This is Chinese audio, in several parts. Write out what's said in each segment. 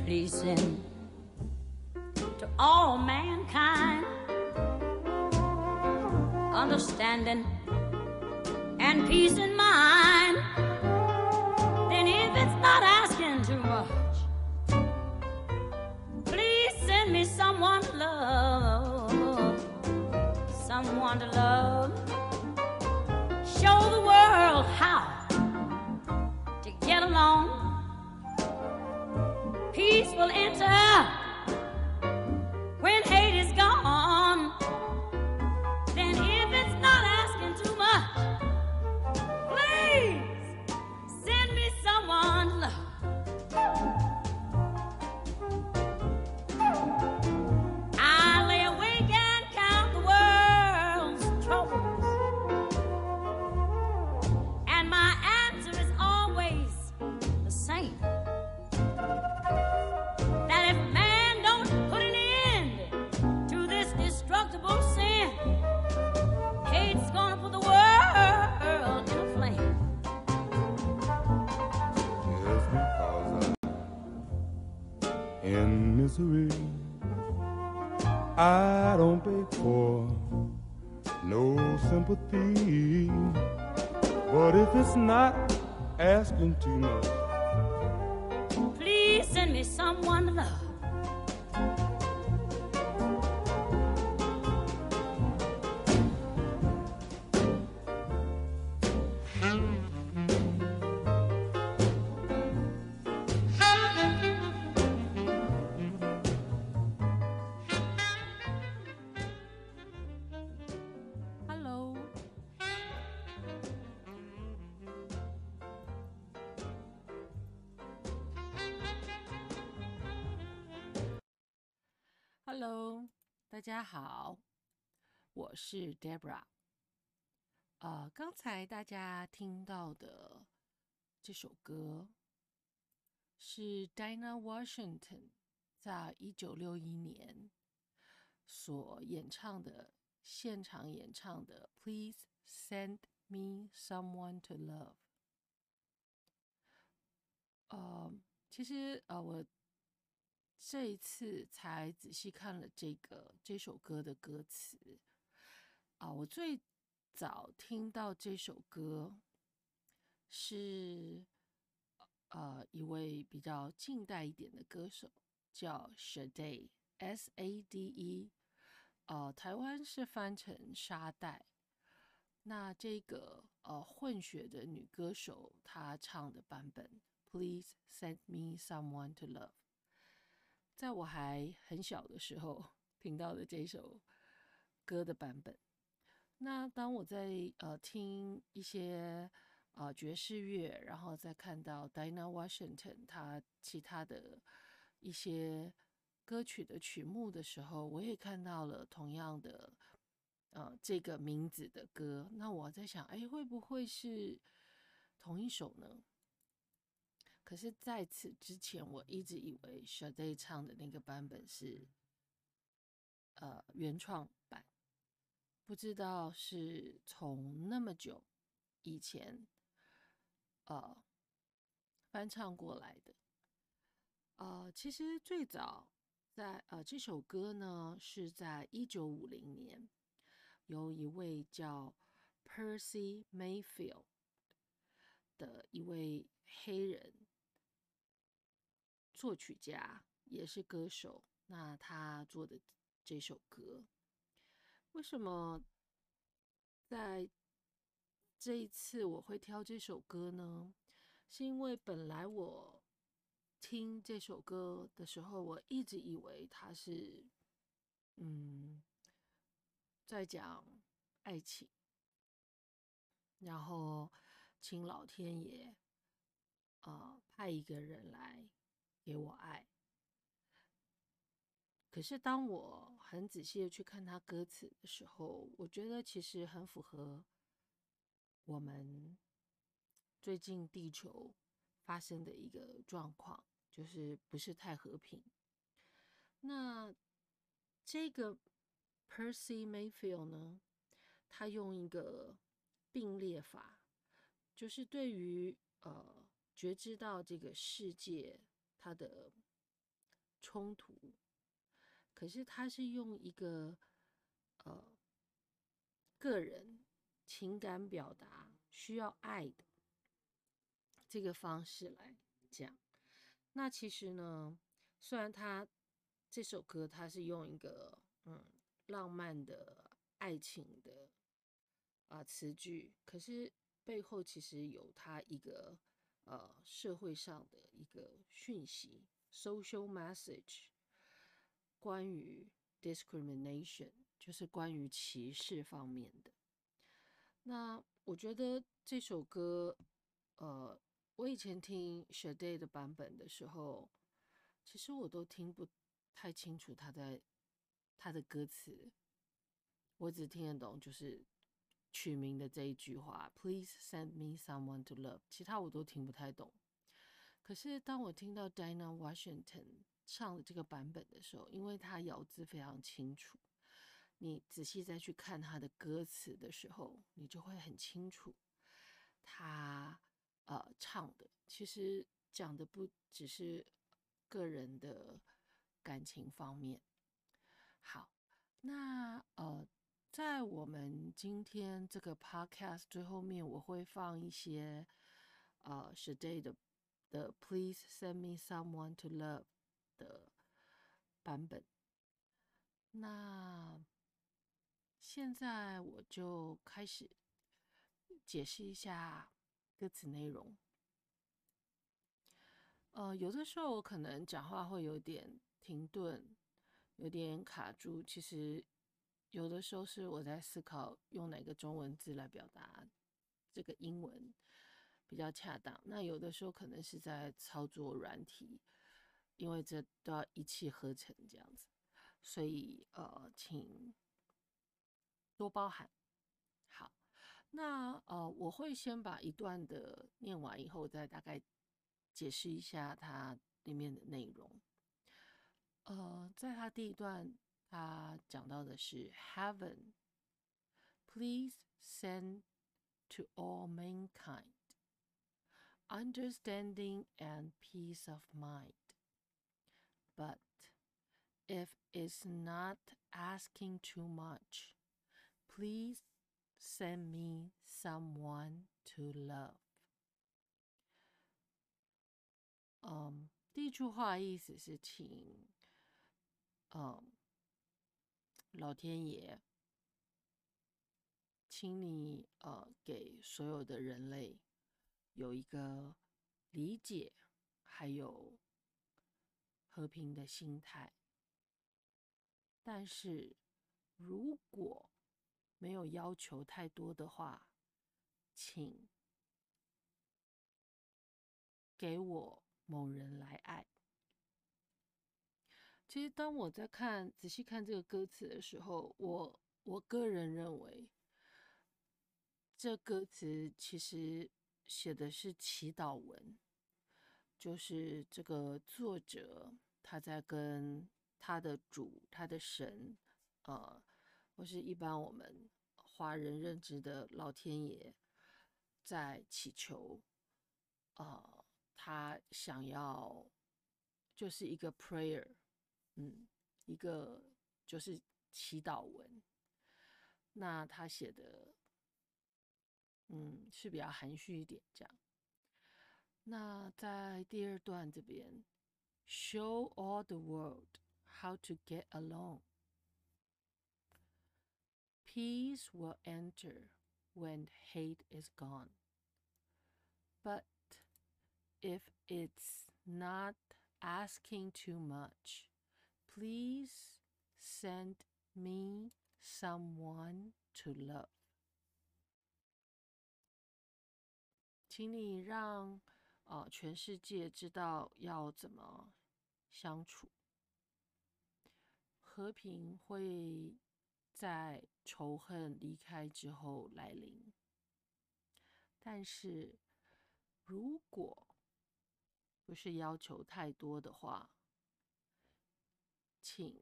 pleasing to all mankind, understanding and peace in mind. Then if it's not asking too much, please send me someone to love, someone to love. Show the world how to get along. Peace will enter when hate is gone. Then if it's not asking too much, please send me someone to love. I lay awake and count the world's troubles, and my answer is always the same. That if man don't put an end to this destructible sin, hate's gonna put the world in a flame. Just because I'm in misery, I don't beg for no sympathy. But if it's not asking too much, Please send me someone to love. Hello， Hello， 大家好，我是 Debra。刚才大家听到的这首歌是 Dinah Washington 在1961年所演唱的现场演唱的 Please Send Me Someone to Love。其实我这一次才仔细看了这首歌的歌词我最早听到这首歌是一位比较近代一点的歌手，叫 Sade S-A-D-E， 台湾是翻成沙袋。那这个混血的女歌手，她唱的版本 Please Send Me Someone to Love， 在我还很小的时候听到的这首歌的版本。那当我在听一些爵士乐，然后再看到 Dinah Washington 她其他的一些歌曲的曲目的时候，我也看到了同样的这个名字的歌。那我在想，会不会是同一首呢？可是在此之前，我一直以为 Sade 唱的那个版本是原创版，不知道是从那么久以前翻唱过来的。其实最早在这首歌呢是在1950年，由一位叫 Percy Mayfield 的一位黑人作曲家，也是歌手，那他做的这首歌。为什么在这一次我会挑这首歌呢？是因为本来我听这首歌的时候，我一直以为它是在讲爱情，然后请老天爷派一个人来给我爱。可是当我很仔细的去看他歌词的时候，我觉得其实很符合我们最近地球发生的一个状况，就是不是太和平。那这个 Percy Mayfield 呢，他用一个并列法，就是对于觉知到这个世界它的冲突，可是他是用一个个人情感表达需要爱的这个方式来讲。那其实呢，虽然他这首歌他是用一个浪漫的爱情的词句，可是背后其实有他一个社会上的一个讯息 social message， 关于 discrimination， 就是关于歧视方面的。那我觉得这首歌我以前听 Sade 的版本的时候，其实我都听不太清楚他的歌词，我只听得懂就是曲名的这一句话 Please send me someone to love， 其他我都听不太懂。可是当我听到 Dinah Washington 唱的这个版本的时候，因为他咬字非常清楚，你仔细再去看他的歌词的时候，你就会很清楚他唱的其实讲的不只是个人的感情方面。好，那在我们今天这个 podcast 最后面，我会放一些Sade 的 Please send me someone to love 的版本。那现在我就开始解释一下歌词内容。有的时候我可能讲话会有点停顿，有点卡住，其实有的时候是我在思考用哪个中文字来表达这个英文比较恰当。那有的时候可能是在操作软体，因为这都要一气呵成这样子，所以请多包涵。好，那我会先把一段的念完以后，再大概解释一下它里面的内容。在它第一段，它讲到的是 Heaven, please send to all mankind understanding and peace of mind. But if it's not asking too much, please send me someone to love. 第一句话意思是请老天爷，请你给所有的人类有一个理解，还有和平的心态。但是如果没有要求太多的话，请给我某人来爱。其实当我在仔细看这个歌词的时候，我个人认为这歌词其实写的是祈祷文，就是这个作者他在跟他的主、他的神，或是一般我们华人认知的老天爷，在祈求，他想要就是一个 prayer，一个就是祈祷文。那他写的，是比较含蓄一点这样。那在第二段这边 ，Show all the world how to get along. Peace will enter when hate is gone. But if it's not asking too much, please send me someone to love. 请你让全世界知道要怎么相处。和平会在仇恨离开之后来临，但是如果不是要求太多的话，请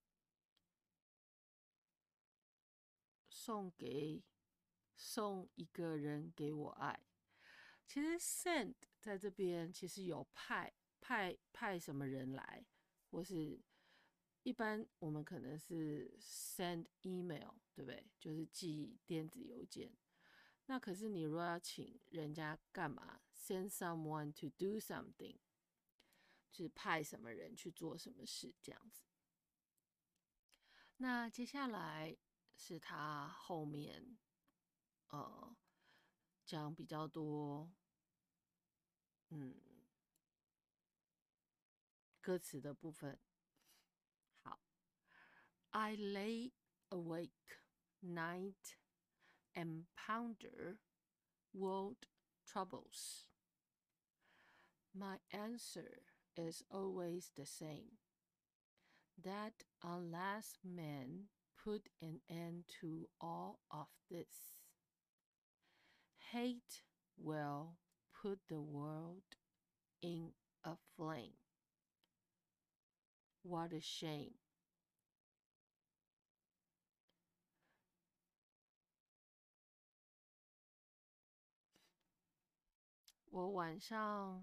送一个人给我爱。其实 send 在这边其实有派什么人来， 或是一般我们可能是 send email， 对不对？就是寄电子邮件。那可是你如果要请人家干嘛 ，send someone to do something， 就是派什么人去做什么事这样子。那接下来是他后面讲比较多歌词的部分。好 ，I lay awake night and ponder world troubles. My answer is always the same, that unless men put an end to all of this, hate will put the world in a flame. What a shame. 我晚上，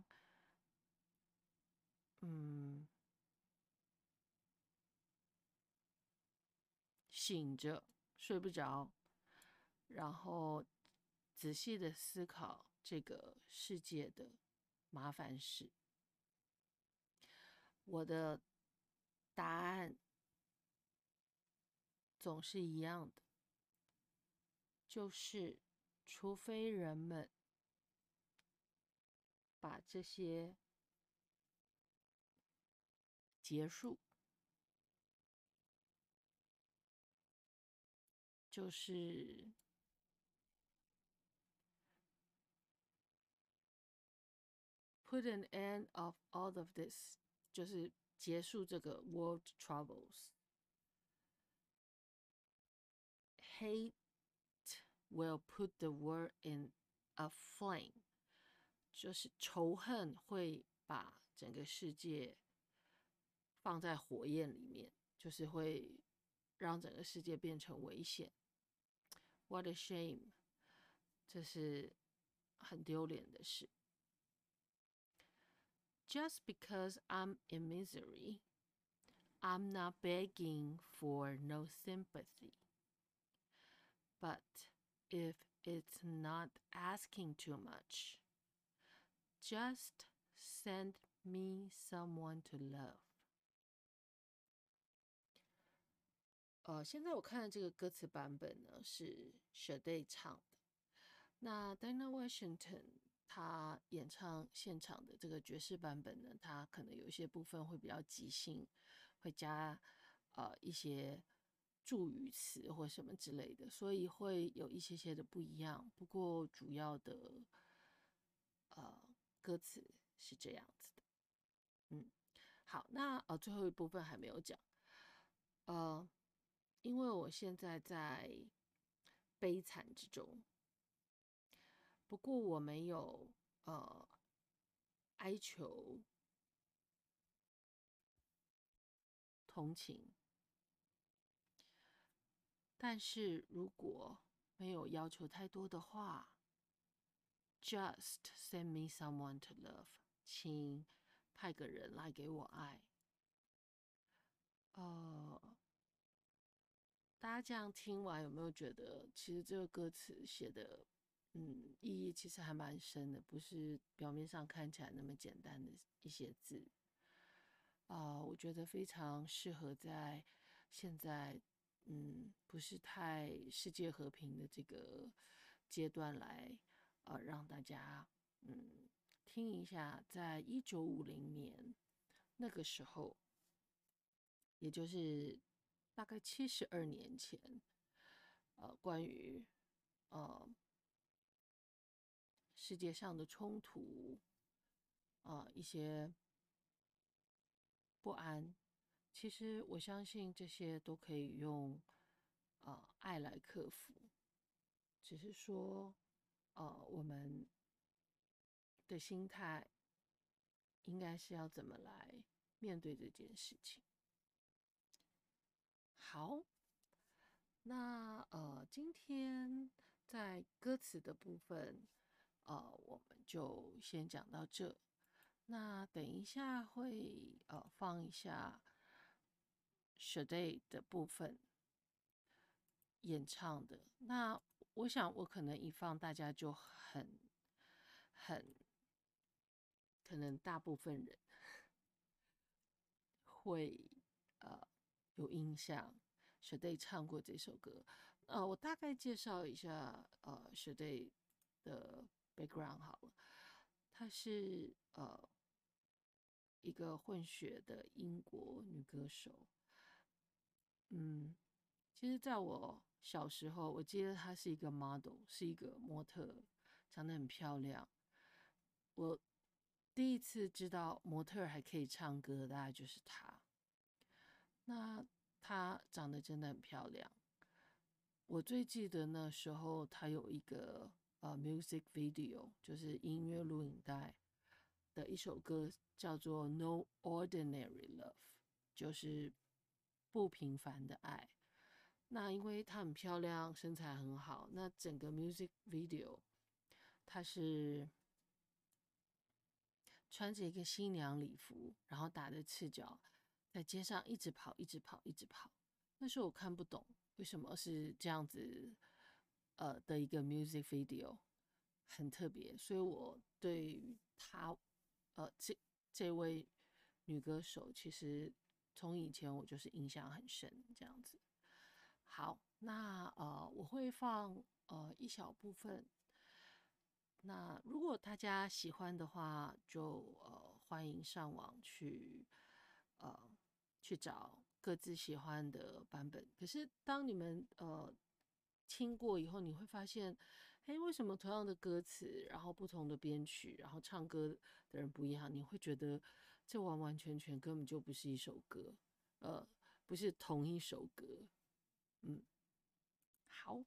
醒着睡不着，然后仔细的思考这个世界的麻烦事。我的答案总是一样的，就是除非人们把这些结束，就是 put an end of all of this， 就是结束这个 world troubles。Hate will put the world in a flame， 就是仇恨会把整个世界放在火焰里面，就是会让整个世界变成危险。What a shame， 这是很丢脸的事。Just because I'm in misery, I'm not begging for no sympathy. But if it's not asking too much, just send me someone to love. 现在我看的这个歌词版本呢是 Sade 唱的。那 Dinah Washington 他演唱现场的这个爵士版本呢，他可能有一些部分会比较即兴，会加一些助语词或什么之类的，所以会有一些的不一样。不过主要的歌词是这样子的。好，那最后一部分还没有讲。因为我现在在悲惨之中，不过我没有哀求同情，但是如果没有要求太多的话 ，just send me someone to love， 请派个人来给我爱。大家这样听完有没有觉得，其实这个歌词写的，意义其实还蛮深的，不是表面上看起来那么简单的一些字。我觉得非常适合在现在，不是太世界和平的这个阶段来，让大家，听一下，在1950年那个时候，也就是大概72年前，关于世界上的冲突，一些不安，其实我相信这些都可以用爱来克服，只是说我们的心态应该是要怎么来面对这件事情。好，那今天在歌词的部分，我们就先讲到这。 那等一下会放一下 Sade 的部分演唱的。那我想我可能一放，大家就很可能大部分人会有印象，Sade 唱过这首歌。我大概介绍一下Sade 的 background 好了。她是一个混血的英国女歌手。其实在我小时候，我记得她是一个 model， 是一个模特，长得很漂亮。我第一次知道模特还可以唱歌，大概就是她。那她长得真的很漂亮。我最记得那时候她有一个music video， 就是音乐录影带的一首歌，叫做《No Ordinary Love》，就是不平凡的爱。那因为她很漂亮，身材很好，那整个 music video， 她是穿着一个新娘礼服，然后打着赤脚，在街上一直跑，一直跑，一直跑。那时候我看不懂为什么是这样子，的一个 music video， 很特别，所以我对于她，这位女歌手，其实从以前我就是印象很深，这样子。好，那我会放一小部分。那如果大家喜欢的话，就欢迎上网去找各自喜欢的版本。可是当你们听过以后，你会发现，哎，为什么同样的歌词，然后不同的编曲，然后唱歌的人不一样？你会觉得这完完全全根本就不是一首歌，不是同一首歌。好。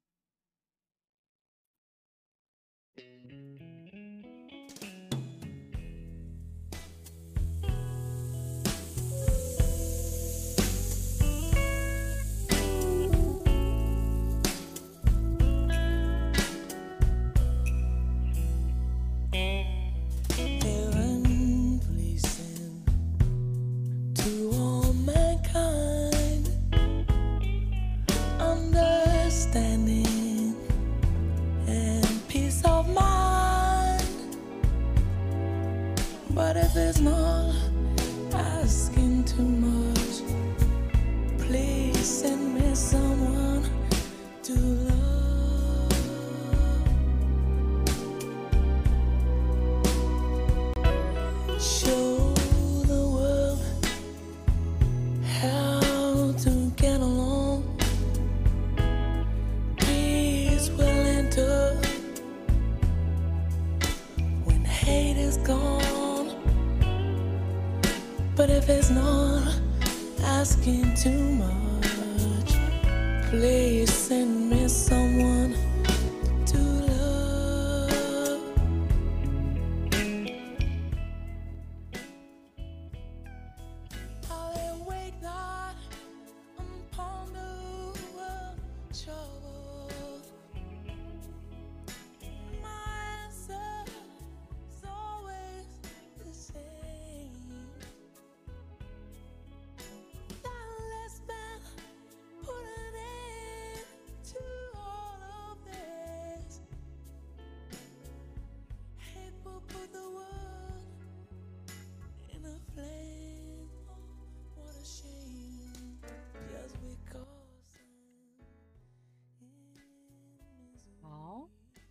But if it's not asking too much, please send me someone to love. Show the world how to get along. Peace will enter when hate is gone. But if it's not asking too much, please send me someone to love. I lay awake night and ponder trouble. My answer is always the same. Let's put an end to all of this. Hate will put the world in a flame. Oh, what a shame. Just because I'm in misery. 好，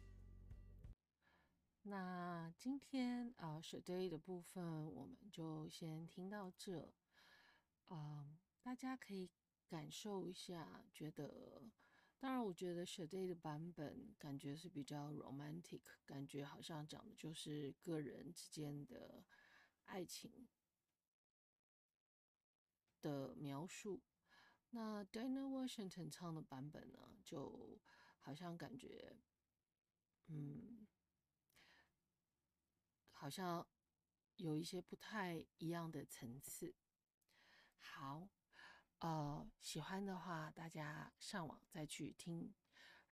那今天Sade 的部分我们就先听到这。大家可以感受一下，觉得，当然，我觉得 Sade 的版本感觉是比较 romantic， 感觉好像讲的就是个人之间的爱情的描述。那 Dinah Washington 唱的版本呢，就好像感觉，好像有一些不太一样的层次。好，喜欢的话，大家上网再去听